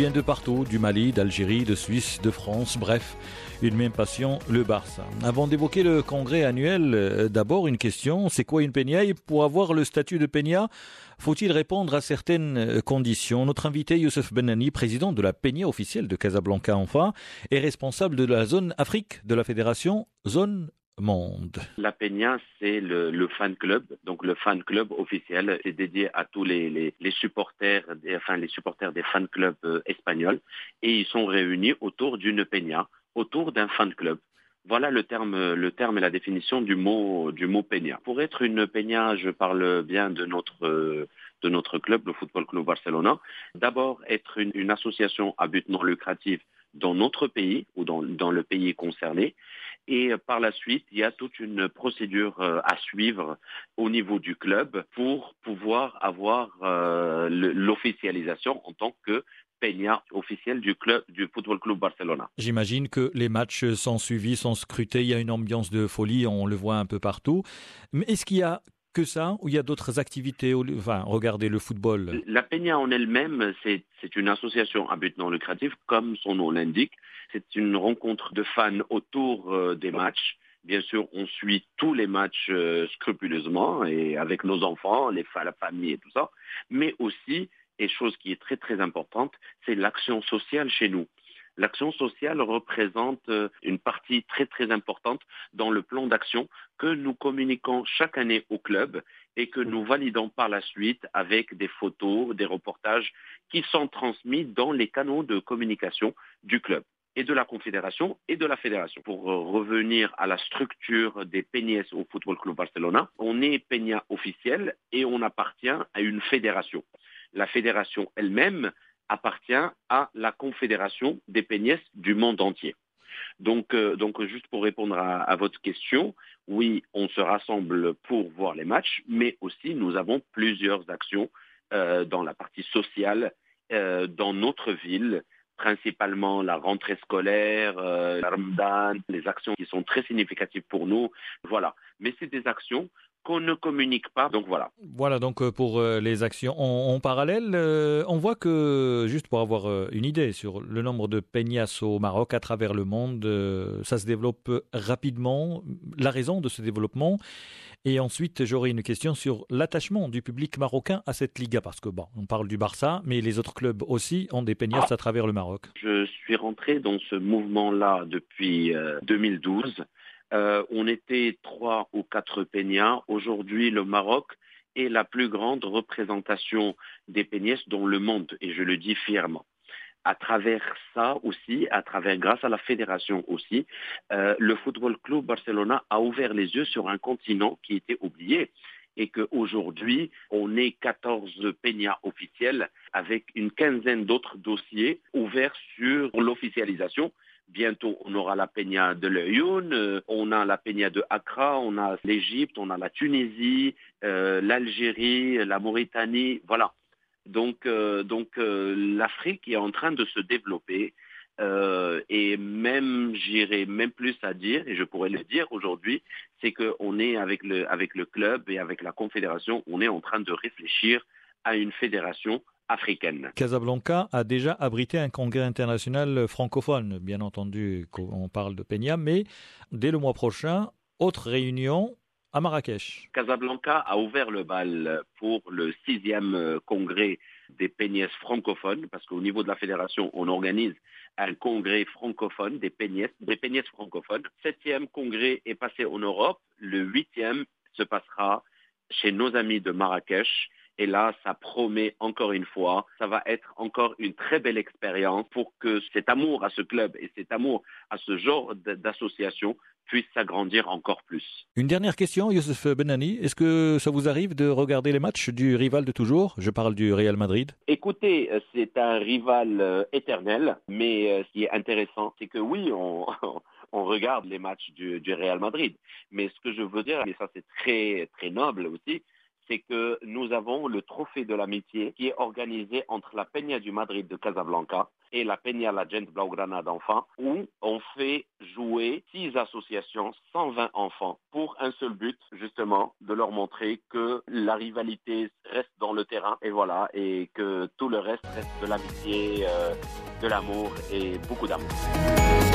viennent de partout, du Mali, d'Algérie, de Suisse, de France, bref, une même passion, le Barça. Avant d'évoquer le congrès annuel, d'abord une question, c'est quoi une peña? Et pour avoir le statut de peña, faut-il répondre à certaines conditions? Notre invité Youssef Benani, président de la peña officielle de Casablanca enfin, est responsable de la zone Afrique de la fédération Zone Monde. La Peña, c'est le fan club, donc le fan club officiel, c'est dédié à tous les supporters, les supporters des fan clubs espagnols, et ils sont réunis autour d'une Peña, autour d'un fan club. Voilà le terme et la définition du mot Peña. Pour être une Peña, je parle bien de notre club, le Football Club Barcelona. D'abord, être une association à but non lucratif dans notre pays ou dans le pays concerné. Et par la suite, il y a toute une procédure à suivre au niveau du club pour pouvoir avoir l'officialisation en tant que peña officielle du club du Football Club Barcelona. J'imagine que les matchs sont suivis, sont scrutés, il y a une ambiance de folie, on le voit un peu partout. Mais est-ce qu'il y a que ça ou il y a d'autres activités? Enfin, regardez le football. La peña en elle-même, c'est une association à but non lucratif, comme son nom l'indique. C'est une rencontre de fans autour des matchs. Bien sûr, on suit tous les matchs scrupuleusement et avec nos enfants, la famille et tout ça. Mais aussi, et chose qui est très très importante, c'est l'action sociale chez nous. L'action sociale représente une partie très très importante dans le plan d'action que nous communiquons chaque année au club et que nous validons par la suite avec des photos, des reportages qui sont transmis dans les canaux de communication du club et de la confédération et de la fédération. Pour revenir à la structure des peñas au Football Club Barcelona, on est peña officiel et on appartient à une fédération. La fédération elle-même appartient à la Confédération des peñas du monde entier. Donc juste pour répondre à votre question, oui, on se rassemble pour voir les matchs, mais aussi nous avons plusieurs actions dans la partie sociale dans notre ville, principalement la rentrée scolaire, la Ramadan, les actions qui sont très significatives pour nous. Voilà. Mais c'est des actions qu'on ne communique pas, donc voilà. Voilà donc pour les actions en parallèle, on voit que, juste pour avoir une idée sur le nombre de peñas au Maroc à travers le monde, ça se développe rapidement, la raison de ce développement, et ensuite j'aurai une question sur l'attachement du public marocain à cette Liga, parce que bon, on parle du Barça, mais les autres clubs aussi ont des peñas à travers le Maroc. Je suis rentré dans ce mouvement-là depuis 2012. On était 3 ou 4 peñas. Aujourd'hui, le Maroc est la plus grande représentation des peñas dans le monde, et je le dis fièrement. À travers ça aussi, grâce à la fédération aussi, le Football Club Barcelona a ouvert les yeux sur un continent qui était oublié et qu'aujourd'hui, on est 14 peñas officiels avec une quinzaine d'autres dossiers ouverts sur l'officialisation. Bientôt, on aura la peña de l'Ayoun, on a la peña de Accra, on a l'Égypte, on a la Tunisie, l'Algérie, la Mauritanie, voilà. Donc l'Afrique est en train de se développer et même, j'irai même plus à dire, et je pourrais le dire aujourd'hui, c'est qu'on est avec le club et avec la confédération, on est en train de réfléchir à une fédération africaine. Casablanca a déjà abrité un congrès international francophone, bien entendu, on parle de peña, mais dès le mois prochain, autre réunion à Marrakech. Casablanca a ouvert le bal pour le 6e congrès des peñas francophones, parce qu'au niveau de la fédération, on organise un congrès francophone des peñas francophones. 7e congrès est passé en Europe, le 8e se passera chez nos amis de Marrakech. Et là, ça promet encore une fois, ça va être encore une très belle expérience pour que cet amour à ce club et cet amour à ce genre d'association puisse s'agrandir encore plus. Une dernière question, Youssef Benani. Est-ce que ça vous arrive de regarder les matchs du rival de toujours? Je parle du Real Madrid. Écoutez, c'est un rival éternel, mais ce qui est intéressant, c'est que oui, on regarde les matchs du Real Madrid. Mais ce que je veux dire, et ça c'est très, très noble aussi, c'est que nous avons le trophée de l'amitié qui est organisé entre la Peña du Madrid de Casablanca et la Peña La Gente Blaugrana d'enfants, où on fait jouer 6 associations, 120 enfants, pour un seul but, justement, de leur montrer que la rivalité reste dans le terrain, et voilà, et que tout le reste reste de l'amitié, de l'amour et beaucoup d'amour.